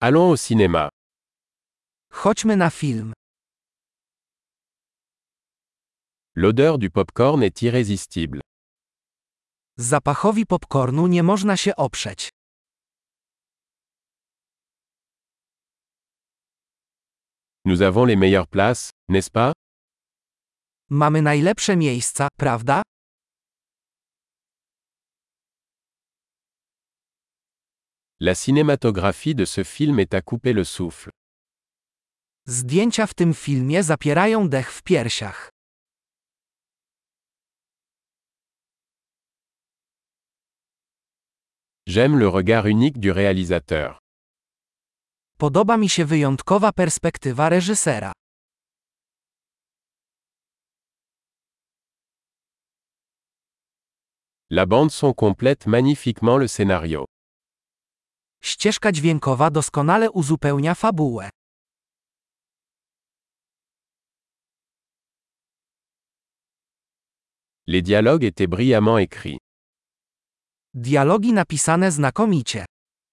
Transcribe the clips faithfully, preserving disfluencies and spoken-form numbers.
Allons au cinéma. Chodźmy na film. L'odeur du popcorn est irrésistible. Zapachowi popcornu nie można się oprzeć. Nous avons les meilleures places, n'est-ce pas? Mamy najlepsze miejsca, prawda? La cinématographie de ce film est à couper le souffle. Zdjęcia w tym filmie zapierają dech w piersiach. J'aime le regard unique du réalisateur. Podoba mi się wyjątkowa perspektywa reżysera. La bande son complète magnifiquement le scénario. Ścieżka dźwiękowa doskonale uzupełnia fabułę. Les dialogues étaient brillamment écrits. Dialogi napisane znakomicie.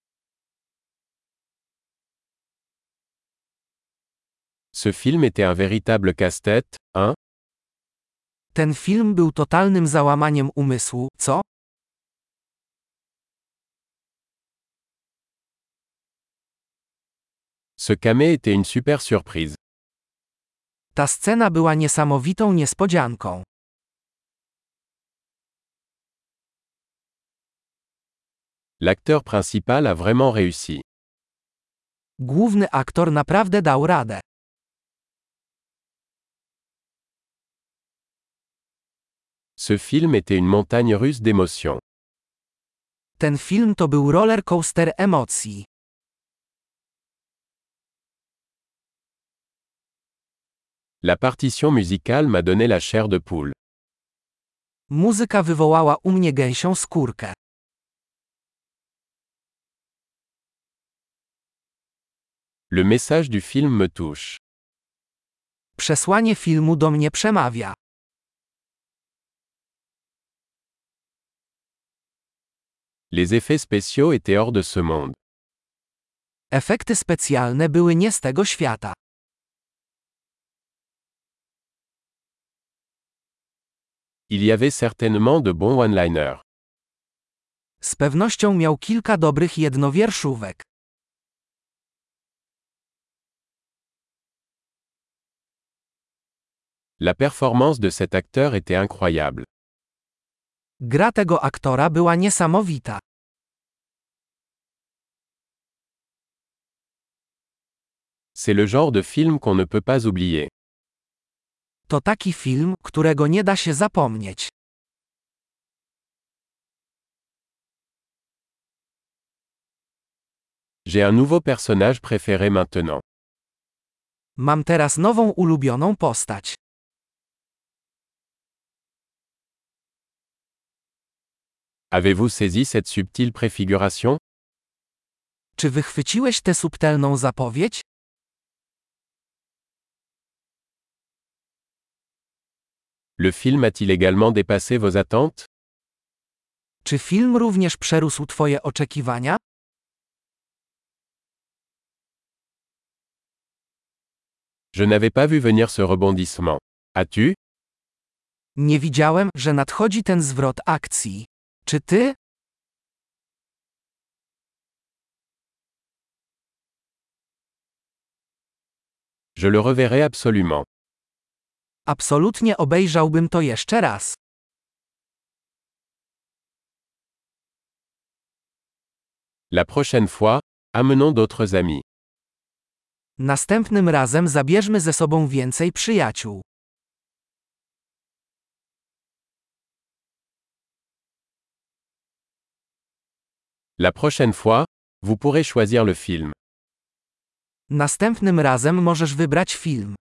Ce film était un véritable casse-tête, hein? Ten film był totalnym załamaniem umysłu, co? Ce camé était une super surprise. Ta scena była niesamowitą niespodzianką. L'acteur principal a vraiment réussi. Główny aktor naprawdę dał radę. Ce film était une montagne russe d'émotions. Ten film to był roller coaster emocji. La partition musicale m'a donné la chair de poule. Muzyka wywołała u mnie gęsią skórkę. Le message du film me touche. Przesłanie filmu do mnie przemawia. Les effets spéciaux étaient hors de ce monde. Efekty specjalne były nie z tego świata. Il y avait certainement de bons one-liners. Z pewnością miał kilka dobrych jednowierszówek. La performance de cet acteur était incroyable. Gra tego aktora była niesamowita. C'est le genre de film qu'on ne peut pas oublier. To taki film, którego nie da się zapomnieć. J'ai un nouveau personnage préféré maintenant. Mam teraz nową ulubioną postać. Avez-vous saisi cette subtile préfiguration? Czy wychwyciłeś tę subtelną zapowiedź? Le film a-t-il également dépassé vos attentes? Czy film również przerósł twoje oczekiwania? Je n'avais pas vu venir ce rebondissement. As-tu? Nie widziałem, że nadchodzi ten zwrot akcji. Czy ty? Je le reverrai absolument. Absolutnie obejrzałbym to jeszcze raz. La prochaine fois, amenons d'autres amis. Następnym razem zabierzmy ze sobą więcej przyjaciół. La prochaine fois, vous pourrez choisir le film. Następnym razem możesz wybrać film.